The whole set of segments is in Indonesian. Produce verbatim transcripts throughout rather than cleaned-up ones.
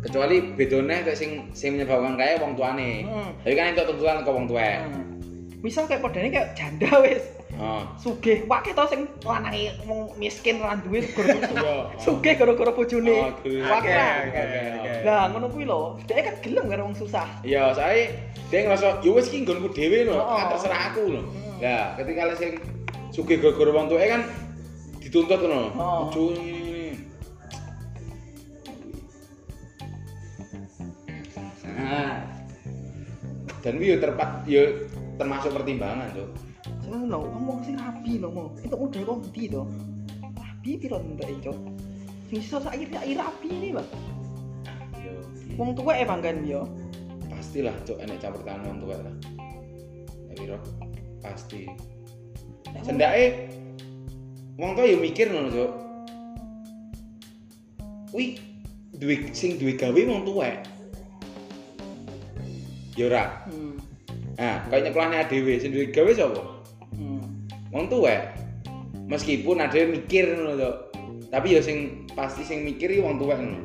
Kecuali bedone nek sing sing menyebabkan kaya wong tuane. Hmm. Tapi kan entuk tuntutan ke wong tuwek. Hmm. Misal kayak padane kayak janda wis. Oh. Sugih, wae to sing lanange wong miskin ora duwe Iya. sugih gara-gara bojone. Oh, duwe. Wae. Oke, oke, oke. Lah ngono kuwi lho, dhek kan gelem karo wong susah. Iya, saya dia ngerasa yo wis ki nggonku dhewe lho, Oh. terserah aku lho. Hmm. Lah, ketika le sing sugih gara-gara wong tuwek kan dituntut ngono. Oh. Ojo ini. Nah. Dan wi yo terpak yo termasuk pertimbangan, Cuk. Seneng lho, ngomong sing rapi lho, mau. Itu udah kok ndi to? Rapi piro ndek, Cuk? Bisa saiki saiki rapi ini, Mas. Yo. Wong tuwek e banggan yo. Pastilah, Cuk, enek campur tangan wong tuwek lah. Ya piro? Pasti. Sendake wong tuwa yo mikir ngono, Cuk. Kuwi duwe sing duwe gawe wong tuwek. Ya ora. Hmm. Nah, kaya nyekolahne dhewe sing duwe gawe sapa? Hmm. Wong tuwek. Meskipun ada yang mikir ngono to. Tapi ya sing pasti sing mikir iki wong tuwek ngono.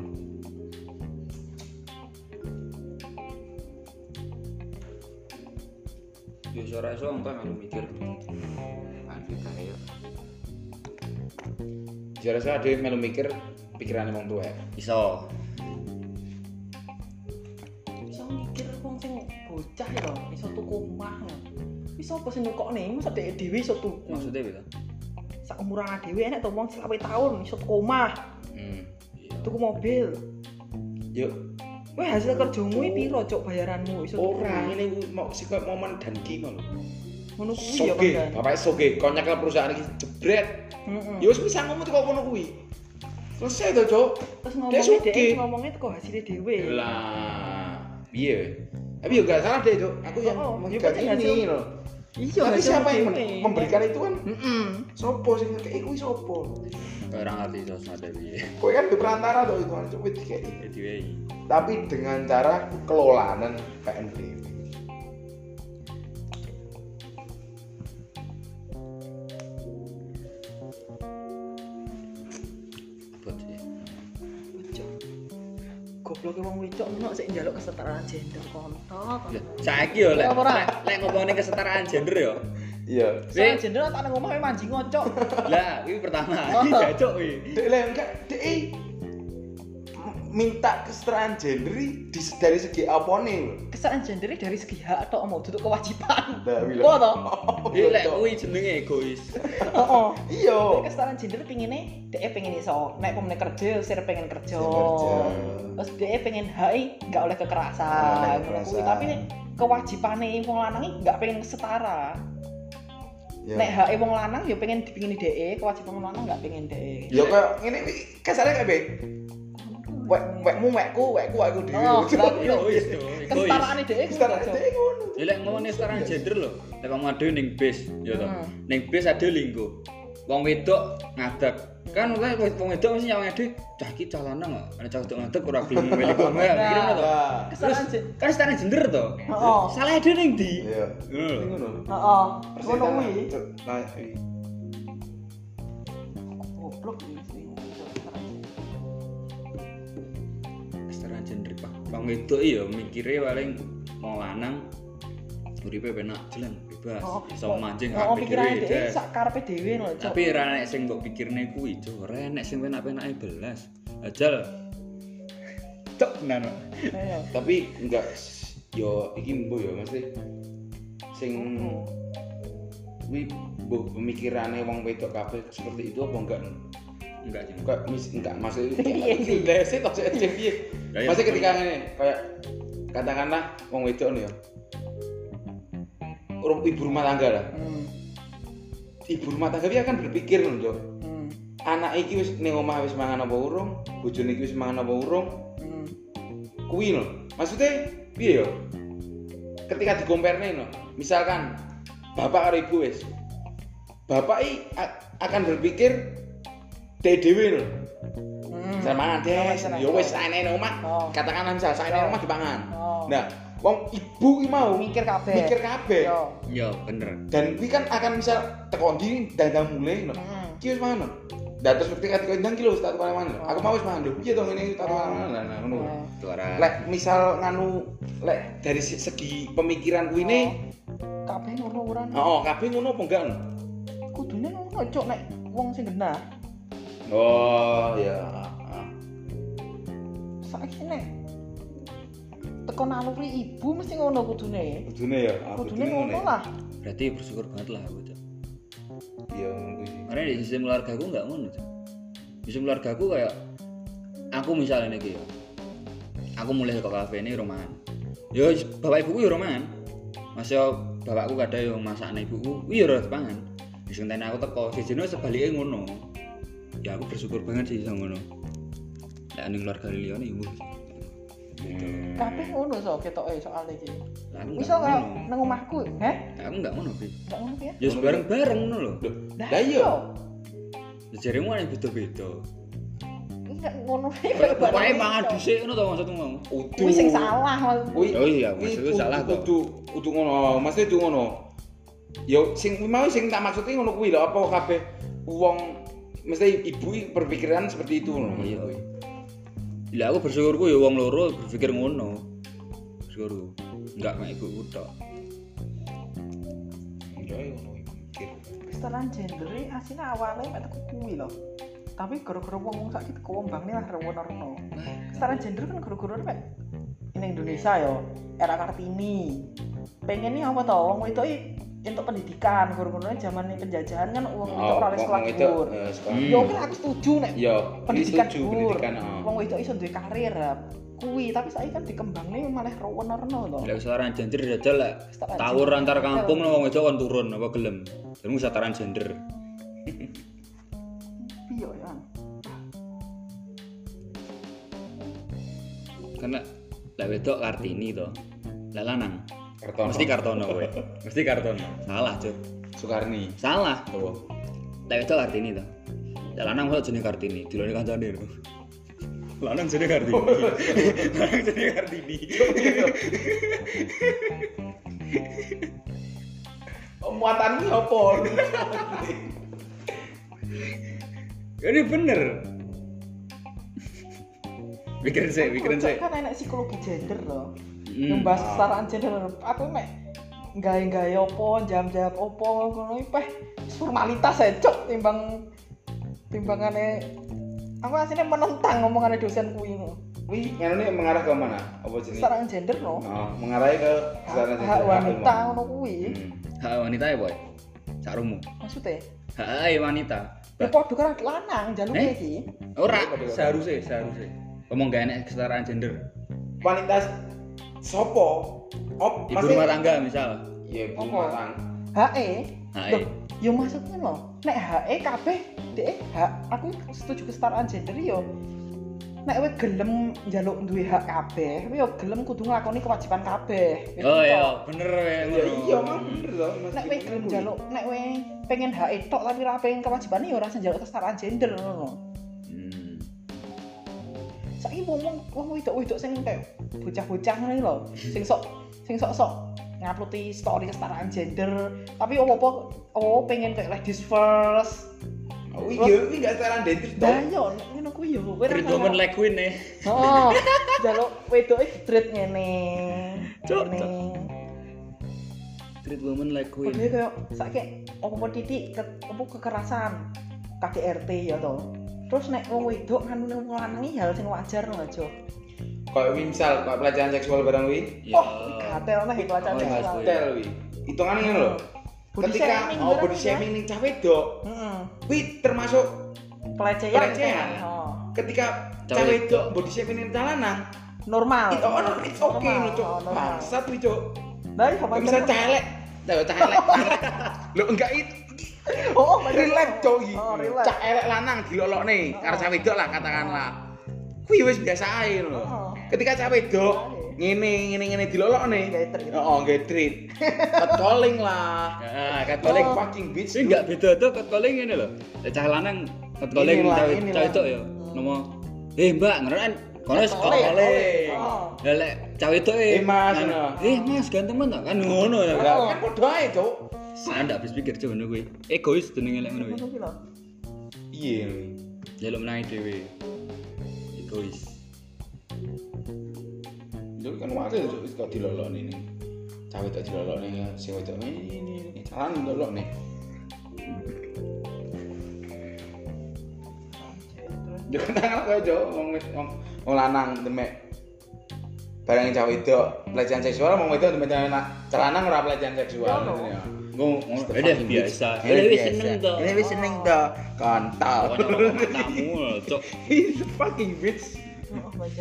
Yo ora iso wong tuwek melu mikir. Aneh kae. Jare saya dhewe melu mikir pikirane wong tuwek. Iso. Iso mikir wong sing bocah ya, iso tuku omah. Wis apa sing nukokne? Masa dhek dhewe iso tuku. Maksudnya piye to? Sak umuran dhewe enek to wong selawe tahun iso tuku omah, Hmm. Iya. tuku mobil. Yo Weh hasil kerjamu iki piro cok bayaranmu iso tuku? ora ngene kuwi mau sik koyo momen dan ki ngono. Ngono kuwi ya Soge, kan. bapake soge, konyak perusahaan iki jebret. Heeh. Ya wis bisa ngomong kok ngono kuwi. Selesai to, Cuk. Terus Dia ngomongnya sugih. dhek ngomongnya teko hasilnya dhewe. Lah, piye? Tapi yo gak salah deh, Cuk. Aku yang Oh, oh, megang ya, ini hasil- loh. Iya, Tapi hasil siapa yang dhewe. men- memberikan itu kan? Heeh. Sopo sing ngekeki kuwi sopo? Kaya ora ngerti sosmade piye. Kowe kan di perantara to itu kan Cuk dikeki. Ya diwehi. Tapi dengan cara kelolaan P N B. Abot sih. Cok. Gobloke wong wedok ngono sik njaluk kesetaraan gender kontok. Lah, saiki yo lek Ora, ora. lek- lek ngomongin kesetaraan gender yo. Iya. Kesetaraan gender tak nang omah manjing ngocok. Lah, iki pertama iki jacuk iki. Dek lah enggak, dek eh, minta kesetaraan gender i di dari segi apane lho. Kesetaraan gender dari segi hak atau mau duduk kewajiban. Lah, wila. Kok to? Iki lek kuwi jenenge egois. Heeh. Iya. Kesetaraan gender pingine dhek pengen iso nek pemene kerja sir pengen kerja. Sir kerja. Terus dhek pengen hak enggak oleh Nggak kekerasan. oleh Ngono kuwi. kekerasan. Tapi nek kewajibane wong lanang iki enggak pengen setara. Ya. Nek hak wong lanang ya pengen dipingini dhek, kewajiban wong lanang enggak pengen dhek. Ya kayak ngene iki kasare kayak be. Wek wekmu wekku, wekku aku dhewe. Oh, berarti Egois to, egois. kesetaraane dhek Kesetaraan dek ngono. Ya lek ngomongin kesetaraan gender lho, lek kamu ade ning bis, ya to. Hmm. Ning bis ade linggo. Wong wedok ngadeg. Kan oleh wong wedok mesti nyawang ade, cah iki cah lanang kok. Nek cah wedok ngadeg ora gelem milih kok. Mikir ngono to. Lah. Terus Kesetaraan gender. kan kesetaraan gender to. Heeh. Salah ade ning ndi? Iya. Ngono lho. Ngono. Heeh. Persis Ngono kan, kuwi. Cuk. Nah, iya. Goblok iki sing Kesetaraan gender Pak. Wong wedok iya mikire paling wong lanang uripe penak jalan bebas, iso mancing Oh, kabeh pikirane dhewe. dhek Des. sak karepe dhewe lho, Cok. Tapi ora nek sing mbok pikirne kuwi, Cuk. Ora nek sing penak-penake belas. Ajal. Cok tenan. Pak. Ayo. Tapi enggak yo iki mbo yo mesti sing kuwi mbuh pemikirane wong wedok kabeh seperti itu apa enggak? Enggak sih. Enggak mis enggak maksud Iya, sih. Leset kok sik piye. Lah, ya, Masih ketika pokoknya. ngene kayak katakanlah wong wedok nih ya. Orang ibu rumah tangga lah. Hmm. Ibu rumah tangga dia akan berpikir loh, Cok. Hmm. Anak iki wis ning omah wis mangan apa urung, bojone iki wis mangan apa urung. Hmm. Kuwi lho. Maksudnya piye yo? Ketika dikomperne lho. Misalkan bapak karo ibu wis. Bapak i a- akan berpikir dhek dhewe lho. Hmm. Misal mangan des, Sama-sama. yo wis saene nang omah. Oh. Katakanlah misal saene nang omah dipangan. Oh. Nah, wong ibu ki mau Mikir kabeh. mikir kabeh. Yo. Yo, bener. Dan kuwi kan akan misal teko ndi dadah mulai lho. Hmm. Ki wis mangan. lho. Lah terus ketika dikono ndang ki lho tak tukang mangan. Aku mau wis mangan lho. Piye to ngene tak tukang mangan. Lah ngono. Tuara. Lek misal nganu lek dari se- segi pemikiran kuwi ne, kabeh ngono ora. heeh, kabeh ngono apa enggak? Kudune ngono cuk nek wong sing genah. Oh, ya. heeh. Saiki nek teko naluri ibu mesti ngono kudune. Kudune ya, ah, Kudune ngono ngono ya. lah. Berarti bersyukur banget lah aku, Cok. Iya ngono kuwi. Karena di sistem keluarga aku enggak ngono, Cok. Sistem keluarga aku kayak aku misalnya iki ya. Aku mulai ke kafe ini roman. Yo bapak ibuku yo roman. Masih bapakku kadang yo masakne ibuku, kuwi yo ora pangan. Wis ngenteni aku teko, sejene sebalike ngono. Ya aku bersyukur banget sih sama ngono. Lek ning keluarga liyane ibu. Hmm. Kabeh ngono so ketoke soal iki. Lah aku Misal enggak kaya ngono. nang omahku, heh? Aku enggak ngono, Bi. Enggak ngono ya? Ya bareng-bareng ngono lho. Loh, lah iya. Jaremu ana beda-beda. Enggak ngono. Pokoke mangan dhisik ngono to maksudmu mau. Udu. Kuwi sing salah maksudku. Kuwi Oh iya, kuwi maksudku kudu- salah to. Kudu kudu ngono, maksudnya kudu ngono. Yo sing mau sing tak maksudnya ngono kuwi lho, apa kabeh wong mesti ibu berpikiran seperti itu lho. Iya. Lah aku bersyukurku ya wong loro berpikir ngono. Bersyukur. Enggak mek ibuku tok. Iya ngono mikir. Kesetaraan gender iki asline awale mek teko kuwi lho. Tapi gara-gara wong-wong saiki teko wembangne lah rewono-rewono. Kesetaraan gender kan gara-gara mek ning Indonesia yo era Kartini. Pengennya apa to wong wedok iki entuk pendidikan gara-gara zaman penjajahan kan wong wedok ora oleh sekolah dhuwur. Hmm. Yo oke aku setuju nek Yo, pendidikan setuju dhuwur. pendidikan. heeh. Wong wedok iso duwe karir lah. Kuwi tapi saiki kan dikembangne malah rewono-rewono to. Lek kesetaraan gender jajal lek Kesetaraan tawur gender. antar kampung nang wong wedok kon turun apa gelem. Jenenge kesetaraan gender. Piye ya? Karena lek wedok Kartini to. Lek lanang Kartono. mesti Kartono kowe. Mesti Kartono. Salah, Cuk. Soekarni. Salah. Apa? Lek wedok Kartini to. Lek lanang kok jenenge Kartini, dilone kancane lho. Lanang jenenge Kartini. Lanang jenenge Kartini. Muatanmu apa? Ini bener. Pikirin sih, pikirin sih. Kan enak psikologi gender loh. Hmm. Yang bahas kesetaraan gender. Aku mek gawe-gawe opo, jam-jam opo ngono iki peh formalitas ae cok timbang timbangane aku aslinya menentang ngomongane dosen kuwi ngono. Wih, nganune mengarah ke mana? Apa jenis? Kesetaraan gender no. Oh, mengarah ke kesetaraan Hak gender. wanita ngono kuwi. Hmm. Hak wanita ya, Boy. Sakrumu. Maksudnya Hak wanita. ya padha karo lanang jaluke Eh? iki. Ora, seharusnya, seharusnya. Ngomong gak enak kesetaraan gender. Wanita sopo? Op, Ibu rumah tangga misal. Iya, ibu Apa? rumah tangga. H.E. H E. Loh, yo maksudnya loh, nek H.E kabeh dhek hak aku setuju kesetaraan gender yo. Nek kowe gelem njaluk duwe hak kabeh, kowe yo gelem kudu nglakoni kewajiban kabeh. Wis Oh gitu. iya, bener ya. Iya, iya, mah bener loh. Nek kowe gelem njaluk, nek kowe pengen H.E tok tapi ora pengen kewajibane yo ora usah njaluk kesetaraan gender ngono. Hmm. Saiki wong wong wedok-wedok sing kayak bocah-bocah ngene lho, sing sok sing sok-sok nguploadi story kesetaraan gender, tapi opo-opo oh pengen kayak ladies first. Oh iya, ini enggak setaraan gender Lah toh. yo ngono kuwi yo kowe ora Treat woman like queen nih. Oh, jaluk wedoke street ngene. Cuk, Ngene. Treat woman like queen. Padahal kayak saiki opo titik ke, opo kekerasan K D R T ya to. Terus nek wong wedok nganune wong lanang iki hal sing wajar lho aja. Kayak misal kayak pelecehan seksual barang wi. Ya. Oh, gatel nih pelecehan Oh, seksual. Hotel wi. Hitungannya ngono lho. Body Ketika shaming oh barang body ya. shaming ning cah wedok, Heeh. wi termasuk Pelecehan. Pelecehan. Oh. ketika Cah cah wedok. wedok body shaming ning cah lanang, Normal. itu ono it's okay Normal, lho, Cuk. oh, normal. Bangsat wi, Cuk. Lah iya Kayak misal cah elek, Lah cah elek. Lho enggak itu. Oh, bener. Relax, Cuk. iki. Oh, relax. Cah elek lanang dilolokne karo cah wedok lah katakanlah. Kuwi wis biasa ae lho. Oh. Ketika cah wedok ngene ngene ngene dilolokne. Gawe treat. Heeh, nggih treat. Catcalling lah. Nah, Catcalling catcalling. fucking bitch. Sing enggak beda tuh catcalling ngene lho. Lek cah lanang catcalling Inilah, cah inilah. cah wedok ya. Nomo. Eh, Mbak, ngeren kono wis Catcalling. catcalling. Oh. Lah lek cah wedok Eh, Mas, ngan- ngono. Eh, Mas, ganteng men kan ngono ya. Lah kan padha ae, Cuk. Saya ndak habis pikir coba ngono kuwi. Egois jenenge lek ngono kuwi. Ngono ki lho. Iya. Jaluk menangi dhewe. Egois. Itu kan wakil kok dilolokne ini. Cawe tak dilolokne sing wedok ini ini jalan dilolokne. Yo kenang apa yo wong wong wong lanang demek. Barang cawe wedok pelecehan seksual wong wedok demek celana ora pelecehan seksual. Ngomong Udah biasa. Ini wis seneng to. Ini wis seneng to. Kontol. Tamu, cok. He's a fucking bitch. Oh, baca.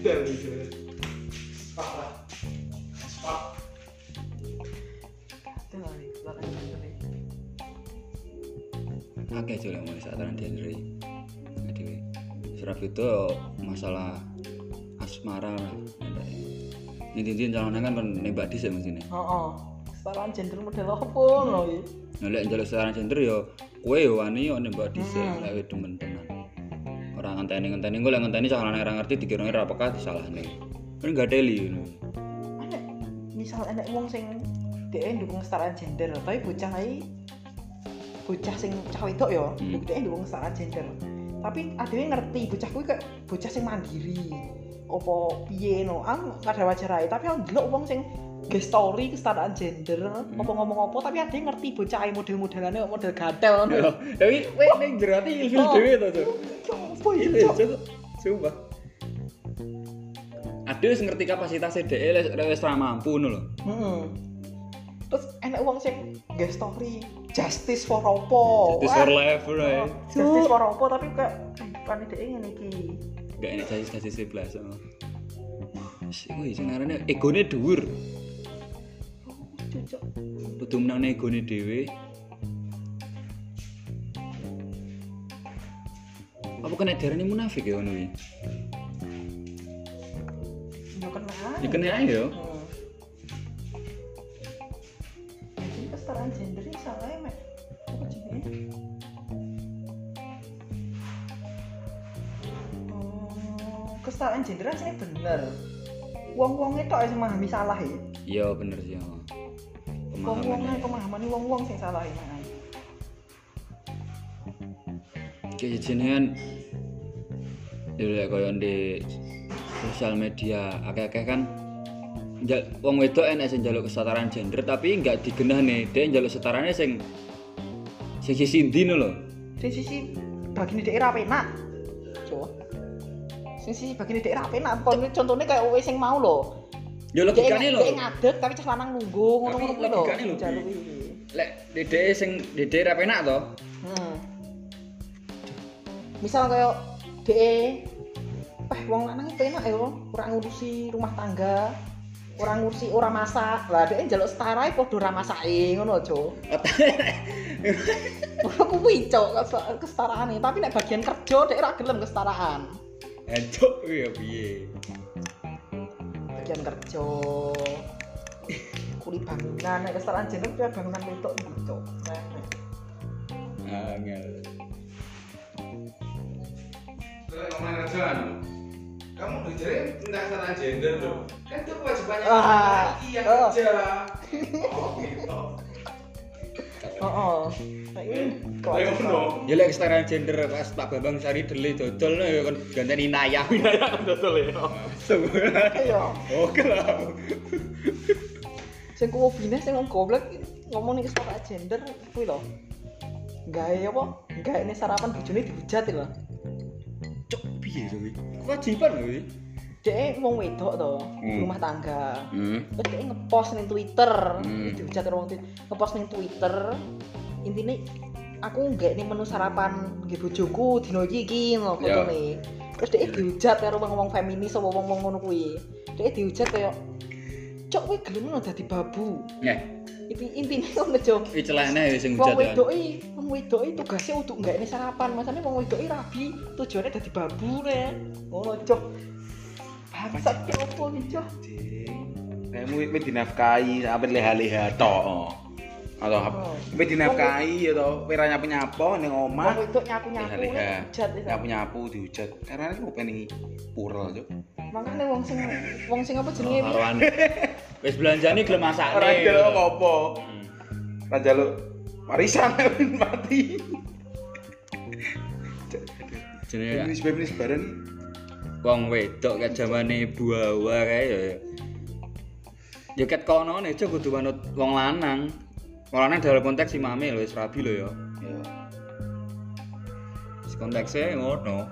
Oke, coba mau sataran genre. Jadi, serap itu masalah asmara lah. Ini calonnya kan nembak dhisik mestine. Heeh. Kesetaraan gender model apa lho iki? Nah, lek njaluk kesetaraan gender ya kowe ya wani yo nembak dhisik lek demen tenan. Ora ngenteni-ngenteni engko lek ngenteni calonane ora ngerti dikirone ora peka disalahne. Kan gak teli ngono. Ada misal enek wong sing dhek ndukung kesetaraan gender, tapi bocah iki bocah sing cah wedok ya, Hmm. dhek ndukung kesetaraan gender. Tapi adewe ngerti bocah kuwi kayak bocah sing mandiri. Apa piye no, aku kada wajar ae, tapi aku ndelok wong sing nge story kesetaraan gender, Hmm. apa ngomong apa tapi ade ngerti bocah ae model-modelane kok model gatel ngono lho. Tapi kowe ning jero ati ilfil dhewe to, Cuk. Apa iki, Cok? Cuk. Sumpah. Ade wis ngerti kapasitasé dhek lek wis ra mampu ngono lho. Heeh. Terus enek wong sing nge story justice for opo. Justice for life bro. Oh, justice for opo tapi kayak kan dhek ngene iki. Gak enak jadi sebelas sama. Iku sing arane egone dhuwur. Cocok. Kudu menang egone dhewe. Apa kena darani munafik ya ngono iki? Yo kena. Ya kena ae yo. Hmm. Jadi kesetaraan gender ini salah ya, Mek. Apa jenenge? Oh, kesetaraan gender asline bener. Wong-wong itu sing memahami salah ya. Iya bener sih. Wong-wong pemahaman wong-wong sing salah ya. Kayak jenengan ya koyo di sosial media akeh-akeh kan njal wong wedok enek sing njaluk kesetaraan gender tapi enggak digenahne, dhek njaluk setarane sing sing sisi ndi lho. Sing sisi bagine dhek ra penak. Cuk. Sing sisi bagine dhek ra penak. Contohnya kayak kowe sing mau lho. Ya logikane lho. Dhek ngadeg tapi cah lanang nunggu ngono-ngono kuwi lho. Logikane lho. Jaluk iki. Lek dhek sing dhek ra penak to. Hmm. Misal kayak dhek eh wong lanang penak ya, ora ngurusi rumah tangga, ora ngurusi ora masak. Lah dhek njaluk setara padha ora masake ngono, Cuk. Ora kuwi, Cuk, kesetaraane. Tapi nek bagian kerja dhek ora gelem kesetaraan. Encuk ya piye? Bagian kerja. Kuli bangunan, nek kesetaraan gender kuwi bangunan wedok iki, Cuk. Angel. Ngomongin kerjaan, kamu bicara tentang kesetaraan gender loh. Kan itu kewajibannya Ah, laki yang oh. kerja. Oh gitu. Heeh. Saiki Ngono. Ya lek kesetaraan gender pas Pak Bambang Sari Dele dodol ya kan ganteni Nayah. Nayah kan dodol ya. Iya. Oke lah. Sing kuwi bine sing wong goblok ngomong ning kesetaraan gender kuwi lho. Gawe apa? Gawe ning sarapan bojone dihujat lho. Cuk piye to iki? Kewajiban lho iki. Dek wong wedok to, Hmm. rumah tangga. Hmm. Terus dek ngepost ning Twitter, Hmm. dihujat karo wong Twitter. Ngepost ning Twitter. Intine aku nggak ning menu sarapan nggih bojoku dino iki iki ngono Ya. fotone. Terus dek dihujat karo wong-wong feminis apa wong-wong ngono kuwi. Dek dihujat kaya cok kowe gelem ngono dadi babu. Nggih. Inti intine ngono, Cok. Iki celana ya sing Wong hujat ya. wedoki, wong wedoki tugasnya untuk nggak ini sarapan. Masane wong wedoki rabi, tujuannya dadi babu ne. Ngono, Cok. Bangsat ki opo iki, Cok? Kamu itu dinafkahi, apa leha-leha tok. Atau apa? Tapi dinafkahi atau pira nyapu-nyapu ning Wong omah. wedok nyapu-nyapu Leha-leha. hujat wis. Nyapu-nyapu dihujat. Karena aku pengen purel, Cuk. Makane wong sing wong sing apa jenenge iki? Karuan. Wis belanjane gelem masakne. Ora njaluk apa-apa. Hmm. Ora njaluk warisan mati. jenenge Feminis-feminis bareng wong wedok kayak zamane buawa kae ya. Ya ket kono nek aja kudu manut wong lanang. Wong lanang dalam konteks si mame lho wis rabi lho ya. ya. Si konteksnya ngono.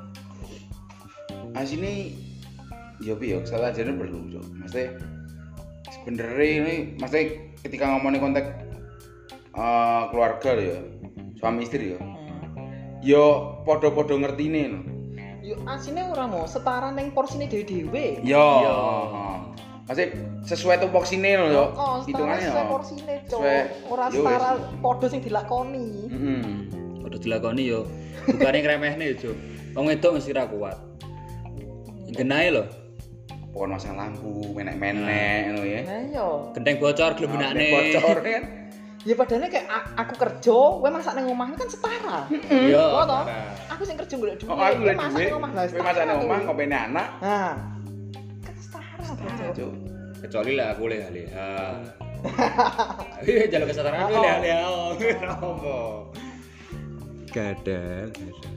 Asine ya piye salah jane perlu, Cuk. Maksudnya sebenarnya ini maksudnya ketika ngomongin konteks uh, keluarga lho ya. Suami istri ya. Hmm. Yo padha-padha ngertine lho. Yo asine ora mau setara ning porsine dhewe-dhewe. Yo. Yo. Maksudnya sesuai tupoksine lho yo. Oh, Hitungannya sesuai yo. porsine, Cuk. Sesuai- Ora yo setara wis. padha sing dilakoni. Heeh. Padha dilakoni yo. Bukane ngremehne yo, Cuk. Wong wedok mesti ra kuat. Genahe lho. Pokoknya masang lampu, menek-menek ngono ya. Nah yo. Genteng bocor gelem benakne. Bocor kan. Ya padahal kayak a- aku kerja, kowe masak ning omah kan setara. Yo. Oh, toh? parah. Aku sing kerja golek duit, Oh, aku kowe lagi masak duit. ning omah lah. Kowe masak ning omah, ngopeni anak. Nah. Kan setara, Cuk. Cuk. Kecuali lah aku leha-leha. Iya, jalur kesetaraan aku Oh. leha-leha. Apa? Gadal, gadal.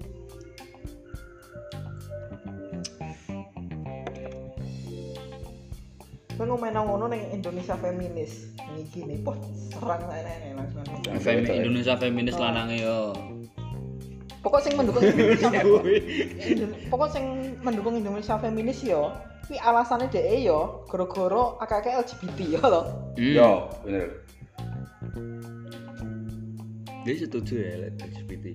Kowe ngomong ngono ning Indonesia feminis. Iki nih, poh serang nenek langsung. Fem Indonesia feminis lanange yo. Pokok sing mendukung Indonesia Indo- pokok sing mendukung Indonesia feminis yo, kuwi alasane dhek yo gara-gara akeh-akeh L G B T yo to. Hmm. Yo, bener. Dia setuju ya L G B T.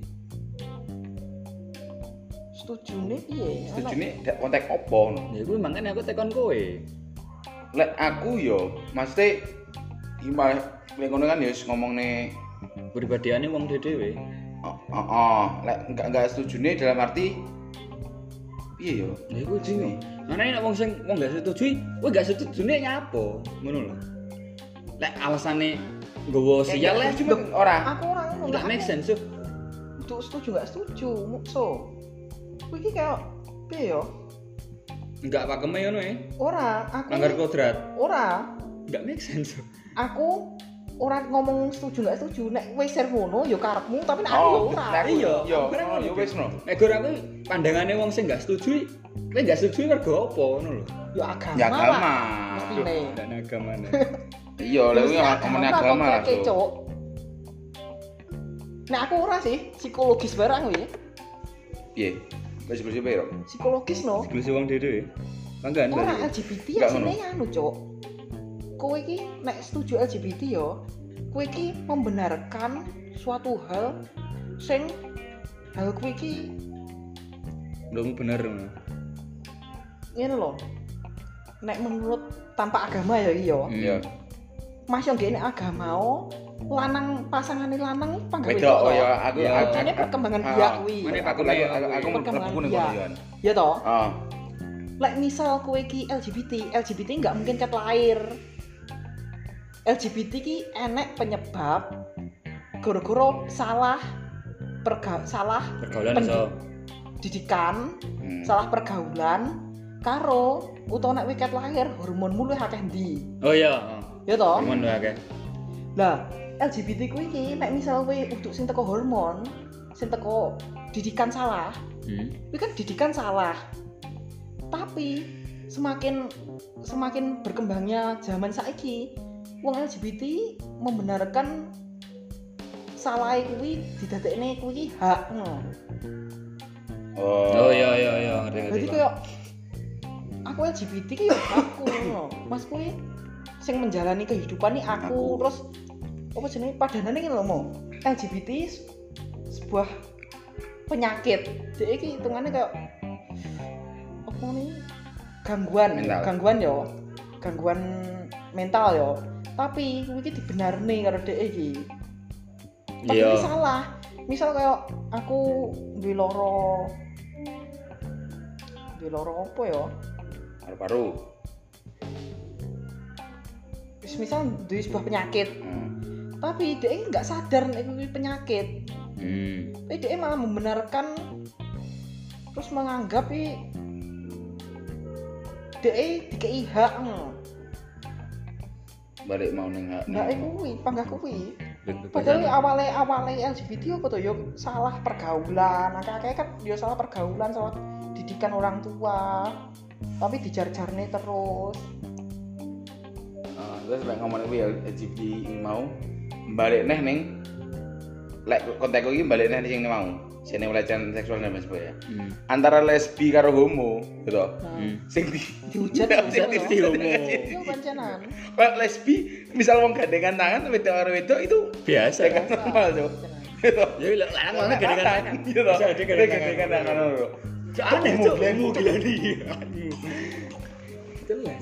Setujune piye? Setujune dak konteks opo ngono. Ya gue makanya aku tekon kowe. Lek aku yo, maksudnya gimana? Lek ngono kan ya wis ngomongne Pribadiane wong dhewe. oh, oh, oh. Lek enggak enggak setujune dalam arti piye yo? Ya gue bingung. Mana nek wong sing wong gak setuju, kowe gak setujune nyapa? Ngono lho. Lek alasane nggawa sial lek cuma ora. Aku ora ngono. enggak make sense tuh. Untuk setuju enggak setuju, mukso. Kuwi iki kayak piye yo? Enggak pakeme ngono ya. Ora, aku Langgar kodrat. ora. Enggak make sense. Aku ora ngomong setuju enggak setuju. Nek kowe share ngono yo karepmu, tapi nek aku yo Oh, ora. nek aku- Iya, yo, aku kira oh, ngono. yo wis no. Nek gur aku pandangane wong sing enggak setuju, kowe enggak setuju mergo apa ngono lho. Yo agama. Ya agama. lah. Mestine. Dan agamane. Iya, lek kuwi Mesti ngomongin agama lah. konkrete, Cuk. Nah aku ora sih psikologis barang kuwi. Piye? Wis bersih piye, Rok? Psikologis no. Segelis wong dhewe. Banggaan Ora berarti. L G B T Nggak asine anu, Cuk. Kowe iki nek setuju L G B T yo, kowe iki membenarkan suatu hal sing hal kowe iki Ndung bener ngono. ngene lho. Nek menurut tanpa agama ya iki yo. Iya. Mas yo ngene agama o, lanang pasangane lanang panggawe Wedok oh ya aku Ya. aku- Ini perkembangan ah, biak kuwi. Aku Mana aku pakune aku kuwi. aku Perkembangan mlebu ning biak. kono. Ya toh? Ah. Lek misal kowe iki L G B T, L G B T nggak mungkin cat lahir. L G B T ki enek penyebab gara-gara salah perga salah Pergaulan Pendi- iso. didikan, Hmm. salah pergaulan karo utawa nek kowe cat lahir hormonmu luwih akeh ndi. Oh iya. Ya toh? Hormon lho akeh. Lah, L G B T kuwi iki nek misal kowe uduk sing teko hormon, sing teko didikan salah, Hmm. kuwi kan didikan salah. Tapi semakin semakin berkembangnya zaman saiki, wong L G B T membenarkan salah kuwi didadekne kuwi hak. No. Oh iya iya iya ngerti ngerti. Jadi kayak aku L G B T ki ya aku no. Mas kuwi sing menjalani kehidupan nih aku, Aku. terus apa jenenge padanane iki lho mo. L G B T s- sebuah penyakit. Dek iki hitungane kayak apa nih? Gangguan, Mental. gangguan yo. Gangguan mental yo. Tapi kuwi iki dibenarne karo dek iki. Tapi Iya. iki salah. Misal kayak aku duwe loro duwe loro apa ya? Paru-paru. Wis misal duwe sebuah penyakit, Hmm. tapi dia nggak sadar nek kuwi penyakit. Hmm. Tapi dia malah membenarkan terus menganggap i dia dikei hak. Balik mau ning hak. Nggak kuwi, panggah kuwi. Padahal awalnya awalnya L G B T apa tuh? Yo salah pergaulan. Akeh-akeh kan yo salah pergaulan, salah didikan orang tua. Tapi dijar-jarne terus. Uh, terus lek ngomongin kuwi L G B T ini mau balik neh ning lek kontekku iki balik neh sing mau. Sing pelecehan seksual dan sebagainya. Hmm. Antara lesbi karo homo, gitu. Hmm. Sing di dihujat sing di homo. Yo pancenan. Kalau lesbi misal wong gandengan tangan wedok karo wedok itu biasa kan normal tuh. Gitu. Ya lek lanang banget gandengan tangan. Gitu. Bisa gandengan tangan lho. Aneh tuh homo gila nih. Jelas.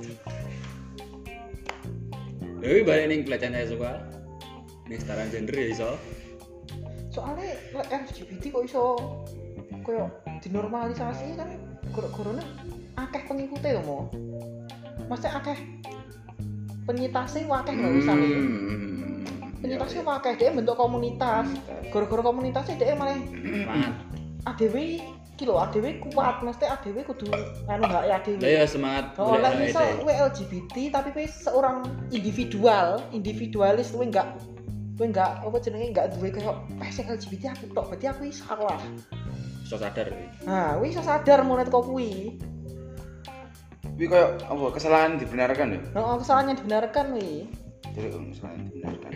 Dewi balik ning pelecehan seksual. Ning setara gender ya iso. Soalnya L G B T kok iso koyo dinormalisasi kan gara-garane akeh pengikutnya lho mo. Maksudnya akeh penyitasnya akeh lho wisane. Penyitasnya akeh dia bentuk komunitas. Gara-gara komunitasnya dia malah A D W iki lho A D W kuat, mesti A D W kudu anu hak A D W. Lah ya semangat. Oh, lah misal kowe L G B T tapi kowe seorang individual, individualis kowe enggak kowe enggak apa jenenge enggak duwe koyo passion L G B T aku tok, berarti aku salah. Iso sadar kuwi. Nah, kuwi iso sadar mulai teko kuwi. Kuwi koyo apa kesalahan dibenarkan ya? Heeh, kesalahan yang dibenarkan kuwi. Jadi kesalahan dibenarkan.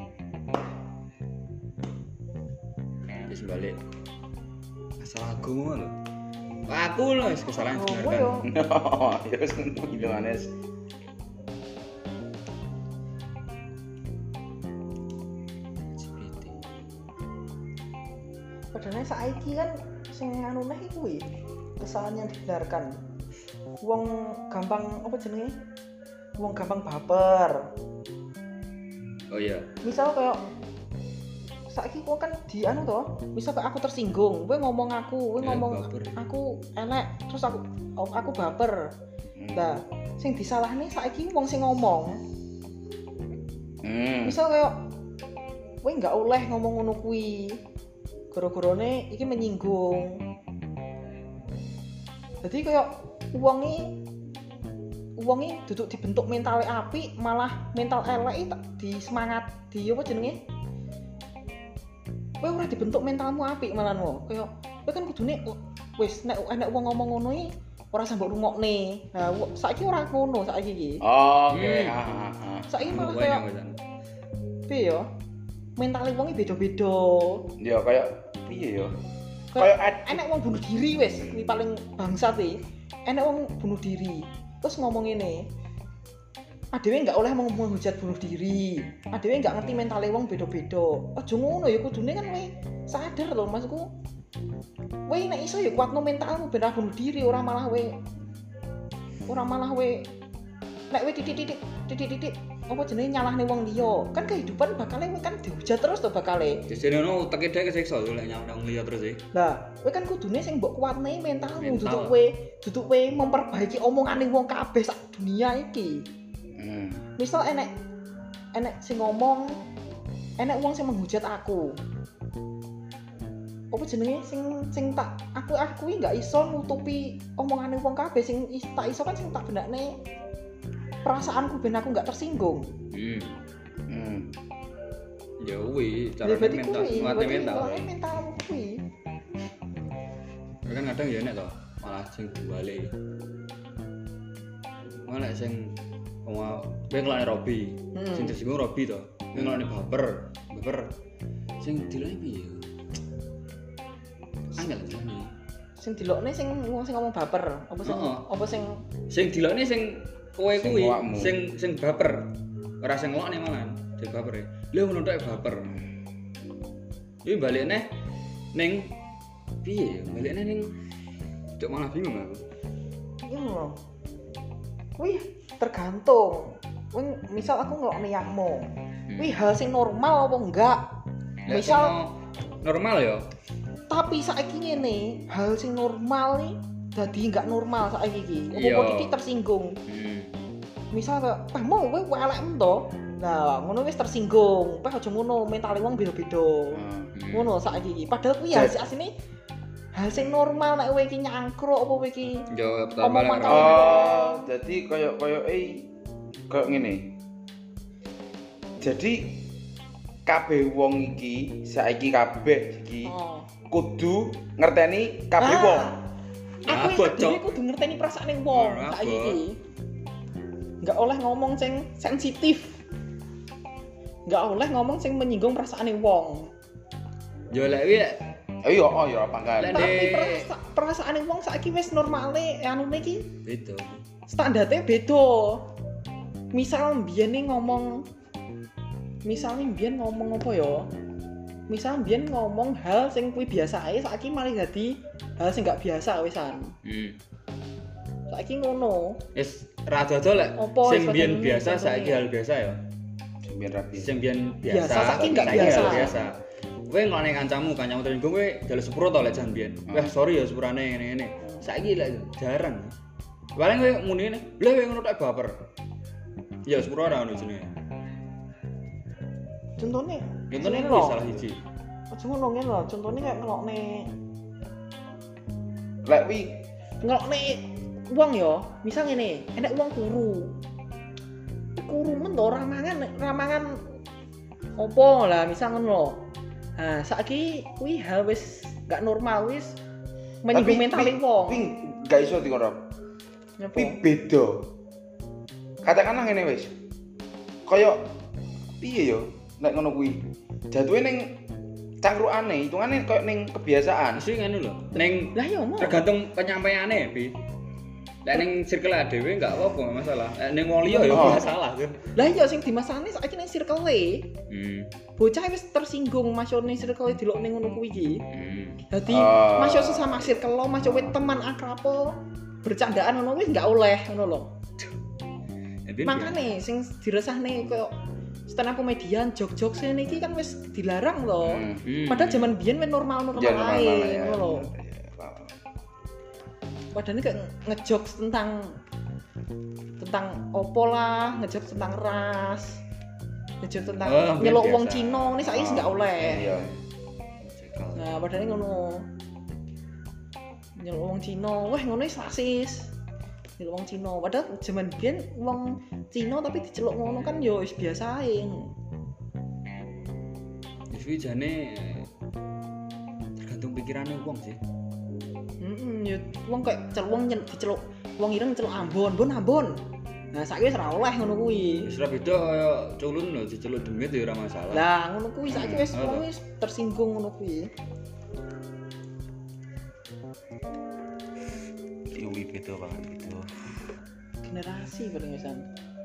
Wis balik. Masalah agama lho. Aku lho wis kesalahan dibenarkan. Oh, ya wis ngono iki Manes. Padahal saiki kan sing anu neh kuwi kesalahan yang dibenarkan. Wong gampang apa jenenge? Wong gampang baper. Oh iya. Misal kayak saiki kok kan di anu to, misal kayak aku tersinggung, kowe ngomong aku, kowe Ya, ngomong baper. aku elek, terus aku oh, aku baper. Lah, sing disalahne saiki wong sing ngomong. Hmm. Misal kayak kowe enggak oleh ngomong ngono kuwi. Gara-garane iki menyinggung. Jadi kayak wonge wonge duduk dibentuk mentale apik, malah mental elek di semangat di apa jenenge? Kowe ora dibentuk mentalmu apik malah no. Kayak kowe kan kudune wis nek enek wong ngomong ngono iki ora sambok rungokne. Nah, saiki ora ngono saiki iki. Oke, Hmm. ha ha ha. Saiki malah Banyak, kayak banyak. piye ya? Mentale wong iki beda-beda. Ya kayak piye ya? Kayak Kayak enek wong bunuh diri wis, kuwi paling bangsat iki. Enek wong bunuh diri. Terus ngomong ngene. A D W enggak oleh mau menghujat bunuh diri. A D W enggak ngerti mentale wong beda-beda. Aja ngono ya kudune kan kowe sadar lho maksudku. Kowe nek iso ya kuatno mentalmu ben ora bunuh diri, ora malah kowe ora malah kowe nek kowe titik-titik titik-titik apa jenenge nyalahne wong liya. Kan kehidupan bakale kowe kan dihujat terus to bakale. Jadi ono uteke dhek kesiksa lho lek nyawang wong liya terus e. Lah, kowe kan kudune sing mbok kuatne mentalmu, Mental. duduk kowe, duduk kowe memperbaiki omongane wong kabeh sak dunia iki. Hmm. Misal enek enek sing ngomong, enek wong sing menghujat aku. Apa jenenge sing sing tak aku aku iki enggak iso nutupi omongane wong kabeh sing is, tak iso kan sing tak benakne perasaanku ben aku enggak tersinggung. Hmm. Hmm. Ya kuwi Ya cara berarti mental, kuwi, nguatne berarti mental. nguatne mentalmu kuwi. Tapi kan kadang ya enek to, malah sing dibalik. Malah sing wong kowe ngelakne Robi, Hmm. sing tersinggung Robi to. Kowe ngelakne baper, baper. Sing dilakne piye? Angel jane. Sing dilokne sing wong sing ngomong baper, apa sing Heeh. apa sing Sing dilakne sing kowe Sing kuwi, awakmu. sing sing baper. Ora sing ngelakne malah, sing baper e. Lha ngono tok baper. Iki balik neh ning piye ya? Balik neh ning cuk malah bingung aku. iya lho. Wih, tergantung. Wih, misal aku ngelokne yakmu. Wih, hal sing normal apa enggak? Lek Misal sono normal ya. tapi saiki ngene, hal sing normal nih dadi enggak normal saiki iki. Iya. Apa titik tersinggung. Hmm. Misal kayak, "Peh mau kowe welekmu to." Nah, ngono wis tersinggung. Peh aja ngono, mentale wong beda-beda. Hmm. Ngono saiki iki. Padahal kuwi hal asline hal sing normal nek kowe iki nyangkruk apa kowe iki Yo pertama Omong lah. makau. Oh, jadi koyo koyo eh koyo ngene. Jadi kabeh wong iki saiki kabeh iki Oh. kudu ngerteni kabeh Ah. wong. Aku Abot, iki dhewe Cok. kudu ngerteni perasaane wong Abot. saiki iki. Enggak oleh ngomong sing sensitif. Enggak oleh ngomong sing menyinggung perasaane wong. Yo lek wi Eh yo oh yo apa kan. Lek- Tapi Dek. perasa, perasaane wong saiki wis normale anune iki beda. standarnya beda. Misal mbiyen nih ngomong misal nih mbiyen ngomong apa ya? Misal mbiyen ngomong hal sing kuwi biasa ae saiki malah dadi hal sing gak biasa wisan. Hmm. Saiki ngono. Wis ra dodo lek Apa sing wis biyen padha biasa ngene, saiki hal biasa ya. Biar rapi. Sing biyen Biasa, biasa, saiki nggak saiki biasa. hal biasa. Kowe ngelone kancamu, kancamu tersinggung kowe jaluk sepuro to lek jan biyen. Hmm. Wah, sorry ya sepurane ngene-ngene. Saiki lek jarang. Paling kowe muni ngene, "Lha kowe ngono tak baper." Ya sepuro ora ngono jenenge. Contohnya, Contohnya ngene kuwi lho. salah siji. Aja ngono ngene lho, contohnya kayak ngelokne Lek wi ngelokne wong ya, misal ngene, enek wong turu. Turu men to ramangan ramangan opo lah misal ngono lho. Nah, saiki kuwi hal wis gak normal wis menyinggung mentale wong. Wi gak iso dikono. Nyapa? Wi beda. Katakanlah ngene wis. Kaya piye yo nek ngono kuwi. Jatuhe ning cangkrukane, hitungane koyo ning kebiasaan. Mesti ngene lho. Ning Lah ya mau. tergantung penyampaiane, Bi. Lek ning circle dhewe enggak apa-apa masalah. Lek ning wong liya ya Oh. masalah kan. Lah ya sing dimasalahne saiki ning circle-e. Hmm. Bocah wis tersinggung masuk ning circle-e delok ning ngono kuwi iki. Hmm. Dadi Ah. masuk sesama circle lo, masuk wit teman akrab bercandaan ngono wis gak oleh ngono lho. Jadi Makane sing diresahne koyo stand up komedian jog-jog sene iki kan wis dilarang lho. Hmm. Hmm. Padahal zaman biyen wis normal-normal Ya normal ae ya. ngono lho. Padahal kayak ngejok tentang tentang opo lah, ngejok tentang ras, ngejok tentang Oh, nyeluk biasa. wong Cina, ini saiki nggak oleh. Iya. Cekal. Nah, padahal ngono. Nyeluk wong Cina, wah ngono wis rasis. Nyeluk wong Cina, padahal zaman biyen wong Cina tapi diceluk ngono kan yo wis biasa ae. Jadi jane tergantung pikirannya wong sih. Heeh, yo wong kayak celuk wong nyen- diceluk wong ireng celuk Ambon, Ambon Ambon. Nah, saiki wis ora oleh ngono kuwi. Wis ora beda kaya culun lho diceluk demit ya ora masalah. Lah, ngono kuwi saiki wis Hmm, wong wis tersinggung ngono kuwi. Iwi beda banget gitu. Generasi paling wisan.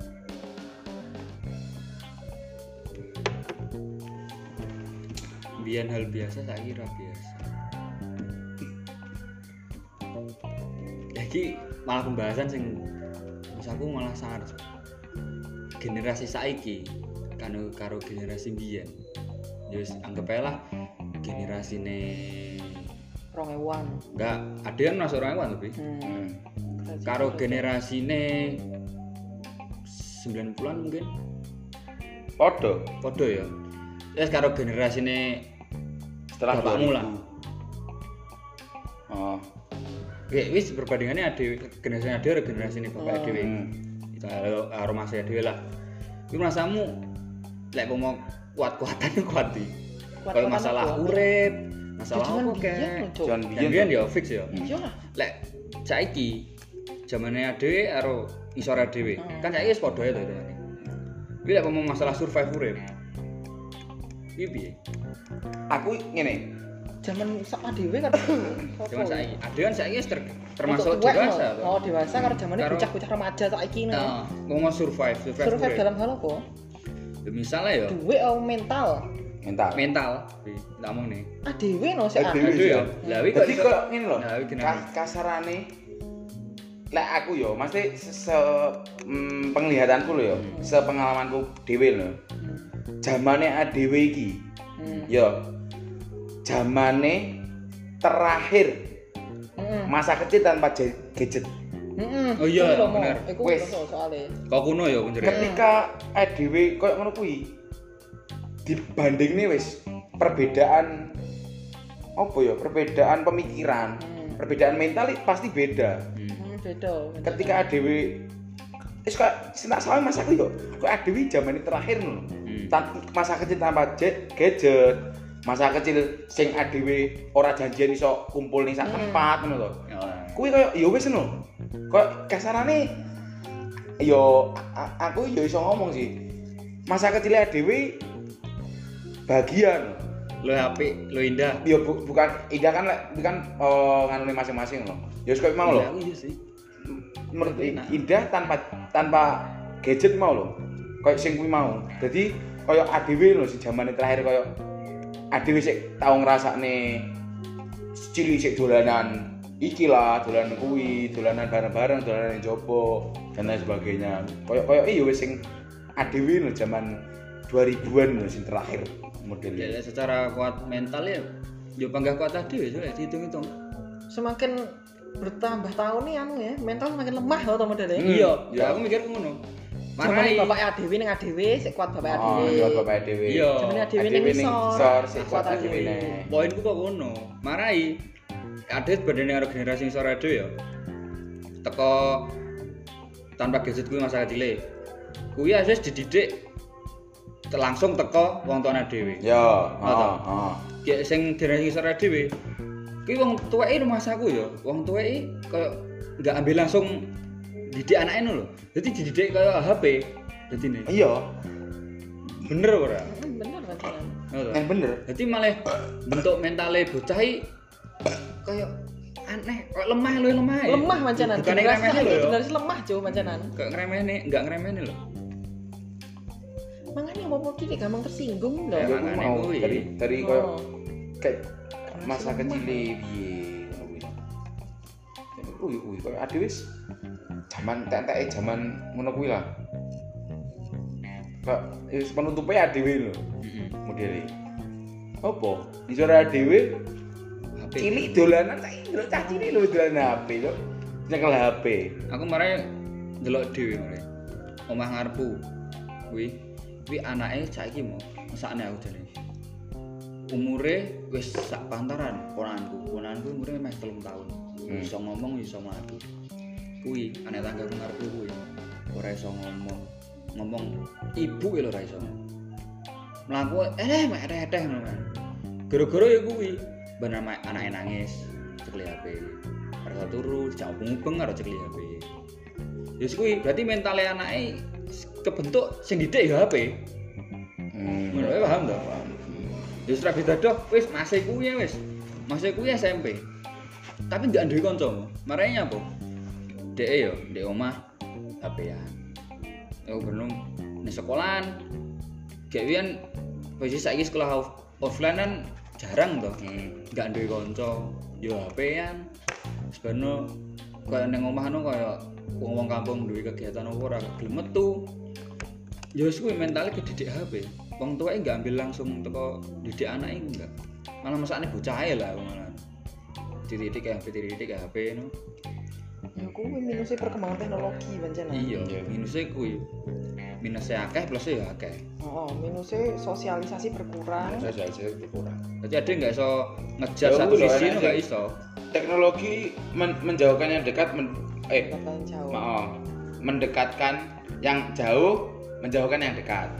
Biyen hal biasa saiki ora biasa. Iki malah pembahasan sing wis aku malah sangat generasi saiki karo karo generasi biyen. Ya wis anggap ae lah generasine rong ewan. enggak ada yang masuk orang ewan tapi Hmm. karo generasine sembilan puluhan mungkin Podo podo ya. Terus karo generasine setelah bapakmu dua ribu. lah. Oh. Oke, wis perbandingannya ada generasi ada karo generasi ini bapak Oh. dhewe. Hmm. Itu karo mas dhewe lah. Iku rasamu lek mau kuat-kuatan kuat di. Kayak masalah urip, masalah apa kek. Jangan Yang biyen ya fix ya. Hmm. Iya lah. Lek saiki zamane dhewe karo isore dhewe. Hmm. Kan saiki wis padha ya to itu. Kuwi lek mau masalah survive urip. Iki piye? Aku ngene. Zaman sak dhewe kan. Cuman saiki, ada kan saiki wis ter- termasuk Untuk tuwek, dewasa no. to. Oh, dewasa karo zamane Karo- bocah-bocah remaja saiki no. Nah, mau survive, survive, Survive urip. dalam hal apa? Ya, misalnya ya Duwe oh, mental. Mental. mental, tak mau nih. Ah dhewe no sik ah. Dhewe. Aduh ya, lah wi kok Jadi iso- kok ngene lho. Nah, wi gini. ka- kasarane lek aku yo mesti se, se mm, penglihatanku lho yo, Hmm. sepengalamanku dhewe lho. Zamane dhewe iki Hmm. yo zamane terakhir Heeh. masa kecil tanpa je- gadget. Heeh. Oh iya, Iku lho, Mo. bener. Iku Wes. lho soalé. Kok kuno ya kunjere. Ketika dhewe koyo ngono kuwi dibandingne wis perbedaan apa ya? Perbedaan pemikiran, Hmm. perbedaan mental itu pasti beda. Hmm. Hmm, beda. beda. Ketika dhewe wis kok tak salah mas aku yo, kok dhewe zamane terakhir lho. Hmm. Hmm. Tan- masa kecil tanpa jet, gadget. Masa kecil sing adewe ora janjian iso kumpul ning sak tempat ngono lho. Ya. Kuwi koyo ya wis ngono. Koyo kasarane yo a- aku yo iso ngomong sih. Masa kecil adewe bagian Lo apik, lo indah. yo bu- bukan indah kan lek bukan uh, nganune masing-masing lho. Ya wis koyo mau lho. Iya, aku iya sih. Menurut Enak. indah tanpa tanpa gadget mau lho. Kayak sing kuwi mau. Jadi kayak adewe lho si zamane terakhir kayak adewe sik tau ngrasakne cilik sik dolanan iki lah, dolanan kuwi, dolanan bareng-bareng, dolanan jopo dan lain sebagainya. Kayak kayak iya wis sing adewe lho zaman dua ribuan lho sing terakhir modelnya. Ya secara kuat mental ya yo panggah kuat tadi wis ya dihitung-hitung. Semakin bertambah tahun nih anu ya, mental semakin lemah loh teman modelnya. Hmm, Iya, iya. aku mikir ngono. Zaman Marai bapak adewe ning adewe, sik kuat bapak Oh, adewe. iya bapak adewe. Iya. Zaman adewe ning Adewe ning isor, isor sik kuat kuat adewe adewe. nih. poinku kok ngono. Marai adet badane karo generasi sing sore dhewe ya. Teko tanpa gadget kuwi masa kecile. Kuwi wis dididik langsung teko wong tuane dhewe. Ya, Oh, toh. heeh, heeh. Kayak sing generasi sing sore dhewe. Kuwi wong tuweke masaku ya, wong tuweke koyo enggak ambil langsung didik anake ngono lho. Dadi dididik koyo H P. Dadi ne. Iya, Bener ora? Hmm, bener pacaran. Ngono yang to. bener. Dadi malah bentuk mentale bocah iki koyo aneh, koyo lemah lho, lemah. ya. Lemah mancanan. Bukan Generasi ngremehne lho saiki ya. generasi lemah jo mancanan. Kayak ngremehne, enggak ngremehne lho. Makanya mau titik gampang tersinggung lho. Ya, Ya, aku makanya mau kuwi. dari dari koyo Oh. kayak masa Lemah. kecil piye ngono kuwi. Uy, uy, koyo ade wis jaman tek-teke jaman ngono kuwi lah. Kok wis penutupe adewe lho Heeh. modele. Apa? Isore adewe H P. cilik dolanan saiki lho cah cilik lho dolanan H P lho. Nyekel H P. Aku marai ndelok dhewe marai. Omah ngarepku. Kuwi kuwi anake saiki mau mesakne aku jane. Umure wis sak pantaran ponanku. Ponanku umure meh telung tahun. Hmm. Iso ngomong iso mlaku. Kuwi anak tanggaku ngarepku kuwi. Ora iso ngomong. Ngomong ibu lho ora iso. Mlaku eh mek eteh ngono kan. Gara-gara ya kuwi ben anake nangis cekli H P. Ora turu dijak mubeng karo cekli H P. Wis kuwi berarti mentale anake kebentuk sing didik ya H P. Hmm. Ngono wae paham to? Wis ra beda doh, wis masih kuwi ya wis. Masih kuwi S M P. Tapi ndak duwe kanca. Marane apa? Deke yo ndek omah H P-an. Aku belum ning sekolahan. Kayak wian wis saiki sekolah off- offline kan jarang to. Ndak duwe kanca, yo H P-an. Sebenarnya kaya ning omah anu kaya wong-wong kampung duwe kegiatan apa ora gelem metu. Ya wis kuwi mentale kedidik H P. Wong tuweke enggak ambil langsung teko didik anake enggak. Malah masakne bocah ae lah malah. Dididik H P, dididik H P no. Ya kuwi minusnya perkembangan teknologi mancanan. Iya, minusnya kuwi. Minusnya akeh plusnya ya akeh. Oh, minusnya sosialisasi berkurang. Saya saya berkurang. Jadi ada enggak iso ngejat Ya, satu udah, sisi enak no enggak sih. iso. Teknologi men- menjauhkan yang dekat men- eh Kata jauh. maaf mendekatkan yang jauh menjauhkan yang dekat.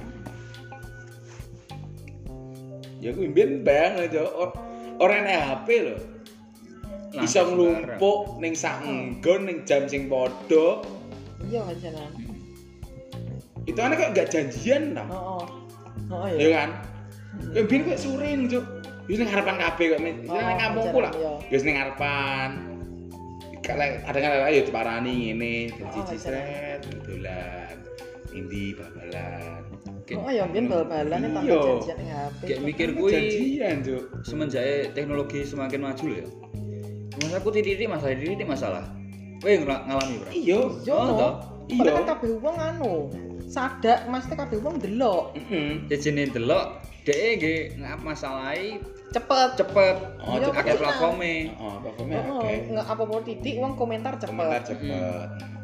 Ya gue mbien bayang aja or, orang nek H P lho. Iso Langsung nglumpuk ning sak nggon ning jam sing padha. Iya mancanan. Itu aneh kok gak janjian ta. Oh, oh. Oh Ya iya. kan? Ya mbien kok sore Cuk. Wis ning ngarepan kabeh kok. Wis Oh, ning kampungku lah. iya. Wis ning ngarepan. Kalau ada kan ayo diparani ngene, Oh, cici sret, dolan. Indi bal-balan. Oh ya mbien bal-balan tanpa Iya. janjian ning H P. Kayak mikir Kan kuwi janjian, Cuk. semenjak teknologi semakin maju lho ya. Masa aku titik masalah titik masalah. Kowe ngel- ngalami berapa? Iya. Iya Oh, no. toh? Iya. Padahal kan kabeh wong anu. Sadak mesti kabeh wong delok. Heeh. Jejene delok dhek nggih ngap masalahi Cepet. cepet. Oh, Iya, cepet Akeh kan? platforme. Oh, platformnya Oh, oke. nggak apa-apa titik wong komentar cepet. Komentar cepet.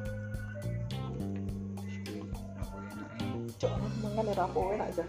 Cok, mangkane rapowe nak aja.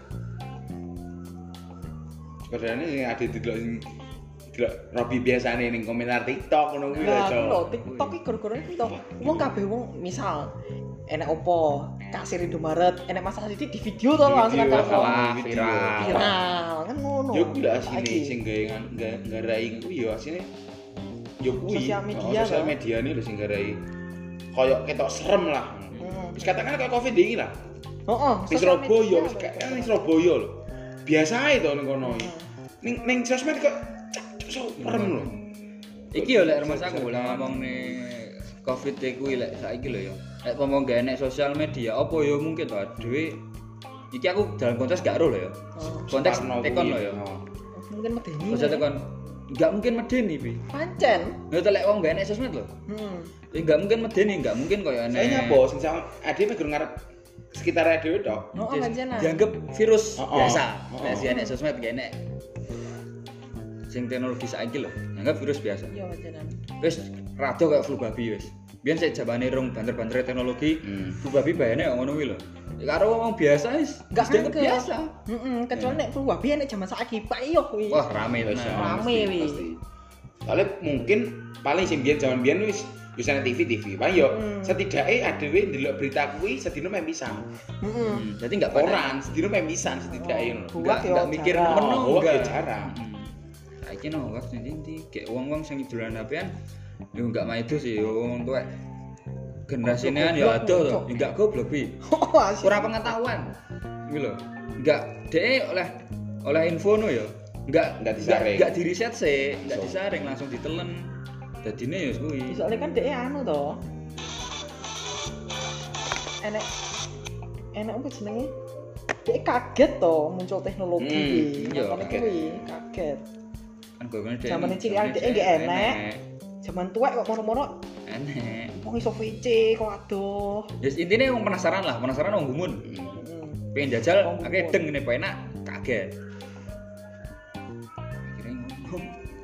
Sebenarnya sing ada delok sing delok Robi biasane ning komentar TikTok ngono kuwi lho, Lah, Cuk. lho TikTok iki gara-gara iki to. Wong kabeh wong misal enek opo kasir Indomaret enek masalah sithik di video to langsung Video, kan Masalah video. viral. viral kan ngono. Yo kuwi lah asine Saiki. sing gawe nggarai kuwi yo asine yo kuwi. Sosial media Oh, sosial lho. media ini lho sing nggarai koyo ketok serem lah. Hmm. Wis katakan kayak Covid iki lah. Heeh. Di Surabaya wis kayak ning Surabaya lho. Biasa ae to ning kono iki. Ning ning sosmed kok cuk serem lho. Iki yo lek rumah aku lah ngomong nih Covid kuwi lek saiki lho ya. Lek ngomong gak enek sosial media, apa yo mungkin to dhewe iki aku dalam konteks gak ero lho ya. Konteks Parno tekon kuwi. lho ya. Oh. Mungkin medeni. Konteks tekon enggak mungkin medeni pi. Pancen. Ya to lek wong gak enek sosmed lho. Hmm. Ya enggak mungkin medeni, enggak mungkin koyo enek. Saya nyapa sing sama ade meh gur ngarep sekitar dhewe tok. Oh, Yes, pancen. dianggap virus Oh, oh. biasa. Oh, Lek oh. si enek sosmed gak enek. Sing teknologi saiki lho, dianggap virus biasa. Iya pancenan. Wis rada kayak flu babi wis. Biyen sik jabane rong banter-banter teknologi, Hmm. flu babi bayane kok ngono kuwi lho. Ya karo wong biasa wis Enggak wis dianggap angel. biasa. Heeh, kecuali nek flu babi nek jaman saiki Pak iyo kuwi. Wah, rame Wis, tenan. Rame, pasti, wi. pasti. Soalnya mungkin paling sing biyen jaman biyen wis wis ana T V T V. Paling yo Hmm. setidaknya adewe ndelok berita kuwi sedina meh pisan. Heeh. Hmm, Jadi enggak panen. Koran sedina meh pisan setidaknya ngono. Buat Enggak yo enggak mikir jarang. menu Oh, enggak. ya jarang. Hmm. Saiki no wak ndi kayak wong-wong sing dolan H P-an yo enggak maido sih yo wong tuwek. Generasine kan ya ada to, yo enggak goblok pi. Oh, asik. Kurang pengetahuan. Iki lho. Enggak dhek oleh oleh info no ya. Enggak Enggak disaring. Enggak di riset sih, enggak So. disaring langsung ditelen. Dadine ya kuwi. Soalnya kan dhek anu to. Enek enek apa jenenge? Dhek kaget to muncul teknologi Hmm, iki. iya, Makane kaget. kuwi kaget. Kan gone dhek. Zamane cilik dhek nggih enek. Zaman tuwek kok moro-moro Enek. wong iso V C kok aduh. Ya intine wong penasaran lah, penasaran wong gumun. Hmm. Heeh. Pengen jajal, Wong akhirnya gumun. deng ini enak, kaget. Akhirnya ngomong.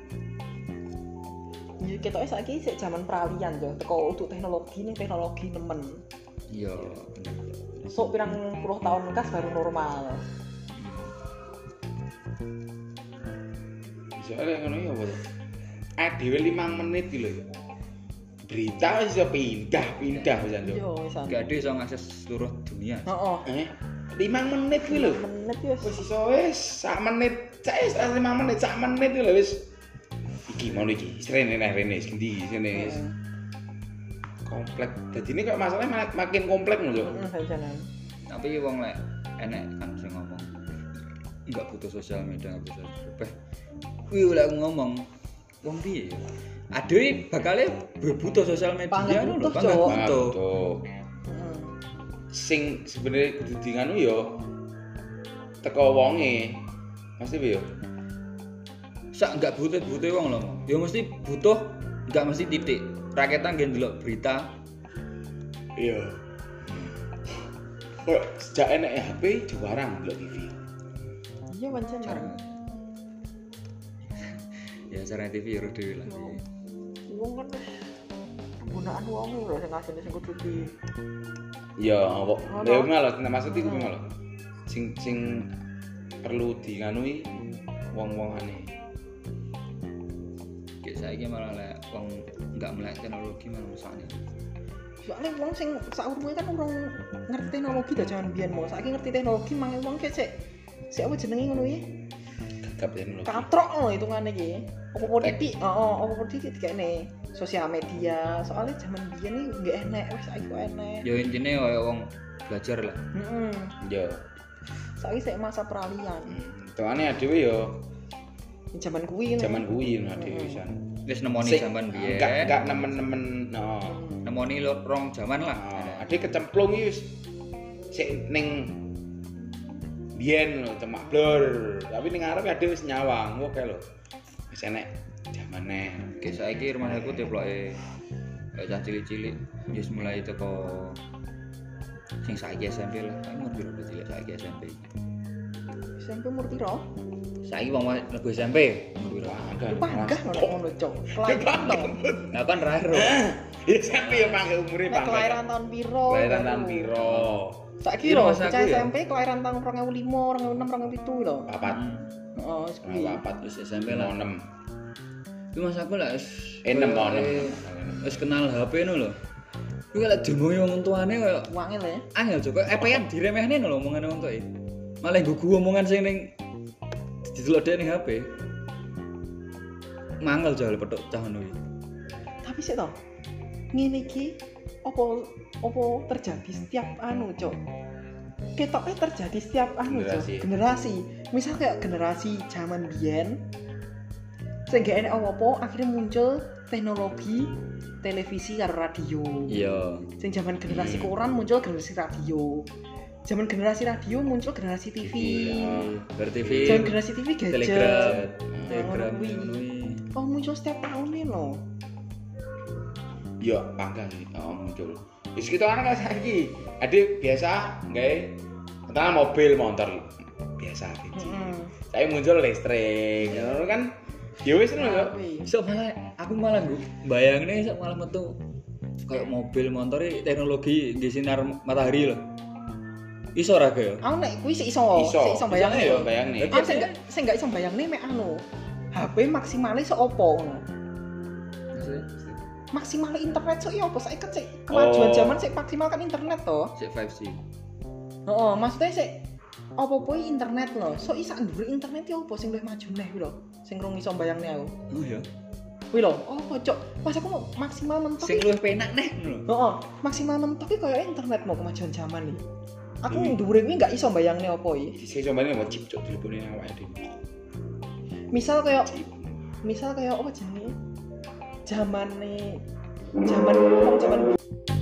Ya ketoke saiki sik zaman peralihan yo, teko untuk teknologi ning teknologi nemen. Iya, bener. Sok pirang puluh tahun kas baru normal. Soalnya ngono ya apa to? Adewe lima menit iki lho ya. Berita wis iso pindah-pindah wis anjo. Yo wisan. Gak ada yang akses seluruh dunia. Heeh. Eh, lima menit kuwi lho. Menit wis. Wis iso wis sak menit, cek wis lima menit, sak menit iki lho wis. Iki mau iki, rene nek rene sendi sini wis. Komplek. Dadi ini kok masalahnya mak- makin komplek lho, Cuk. Heeh, pancen. Tapi wong lek enek kan sing ngomong enggak butuh sosial media, enggak butuh apa. Kuwi lek aku ngomong wong piye ya? Adewe bakale butuh sosial media Banget lho, butuh, banget Cuk. butuh. Tuh. Heeh. Sing sebenarnya kudu di nganu yo teko wonge. Mesti piye yo? Sak enggak butuh-butuh wong lho. Ya mesti butuh, enggak mesti titik. Rakyatan nggih ndelok berita. Iya. Kok sejak enek H P diwarang ndelok T V. Iya pancen. Jarang. Ya cara T V ya dhewe lah. Wong kan wis penggunaan wong lho sing asine sing kudu di Iya, kok. Ono. Ya malah nah, maksud iku malah. Sing sing perlu di nganui wong-wongane. Kayak saiki malah lek wong enggak melek teknologi malah rusakne. soalnya wong sing saurunge kan urung ngerti teknologi dah jaman biyen mo. Saiki ngerti teknologi mangke wong ki sik sik apa jenenge ngono iki? Gagap teknologi. Katrok ngono hitungane iki. Apa-apa titik, heeh, apa-apa titik dikene sosial media. Soalnya jaman biyen iki nggak enek, wis saiki kok enek. Ya intine kaya wong belajar lah. Heeh. Yo. Saiki sik masa peralihan. Tengane adewe yo Jaman kuwi ngono. zaman kuwi ngono adewe wisan. Wis nemoni Sik, zaman biyen. Enggak enggak nemen-nemen no. Nemoni lo rong zaman lah. Nah, ade kecemplung iki wis sik ning biyen lho cemak blur. Tapi ning arep ade wis nyawang, oke lho. Wis enek zamane. Kayak saiki rumah aku deploke kayak cah cilik-cilik wis mulai teko sing saiki S M P lah. Umur piro udah cilik saiki S M P. S M P umur piro? Saiki wong mlebu S M P umur piro? Enggak. Panggah ngono ngono, Cok. Kelahiran tahun. Lah kan terakhir. Ya sampe ya mangke umure Nek pangkat. kelahiran tahun piro? Kelahiran tahun piro? Saiki Iya, lho, masa bocah aku ya. S M P kelahiran tahun dua ribu lima, dua ribu enam, dua ribu tujuh lho. Papat. Heeh, wis kuwi. Nah, papat Wis S M P lah. enam. Itu mas aku lah wis Eh, enam, oh, enam. wis kenal H P no lho. Kuwi lek diomongi wong tuane koyo Wangil ya. angel Joko, epean diremehne lho omongane wong tuwa. Malah nggugu omongan sing ning didelok dhek ning H P. Mangel jal petuk cah ngono iki. Tapi sih toh, ngene iki opo opo terjadi setiap anu, Cok. Ketoknya terjadi setiap anu, Cok. Generasi. Generasi. Misal kayak generasi zaman biyen sing gak enek opo-opo akhirnya muncul teknologi televisi karo radio. Iya. Sing zaman generasi Hmm. koran muncul generasi radio. Zaman generasi radio muncul generasi T V. Ber T V. Zaman generasi T V gadget. Telegram. Telegram Ngono kuwi. ngono kuwi. Oh muncul setiap tahun nih loh. Yo bangga sih, oh muncul. Wis kita kan saiki, adik biasa nggae katakan mobil motor biasa gitu. Heeh. Saya muncul listrik, ngono kan. Ya wis ngono yo. Iso malah aku malah nggo bayangne iso malah metu kayak mobil motor teknologi nggih sinar matahari lho. Iso ora ge ya? Aku nek kuwi sik iso, Iso, sik iso bayang yo bayangne. Ah sing gak sing gak iso bayangne mek anu. H P maksimale sok opo ngono. Maksimal internet sok iya apa saiki kan sik kemajuan Oh. zaman sik maksimal kan internet to. Sik five G. Heeh, maksudnya sik apa-apa iki internet lho. Sok iso ndhuwur internet ya apa sing luwih maju neh kuwi lho. Sing rung iso bayangne aku. Oh ya. Kuwi lho, oh cok. Pas aku mau maksimal mentok. Sing luwih penak neh ngono lho. Heeh, maksimal mentok iki koyo internet mau kemajuan zaman iki. Aku Hmm. ndhuwure kuwi gak iso bayangne apa iki. Sing combane mau chip cok telepone awake dhewe. Misal kayak misal kayak apa jenenge? Zamane zaman wong zaman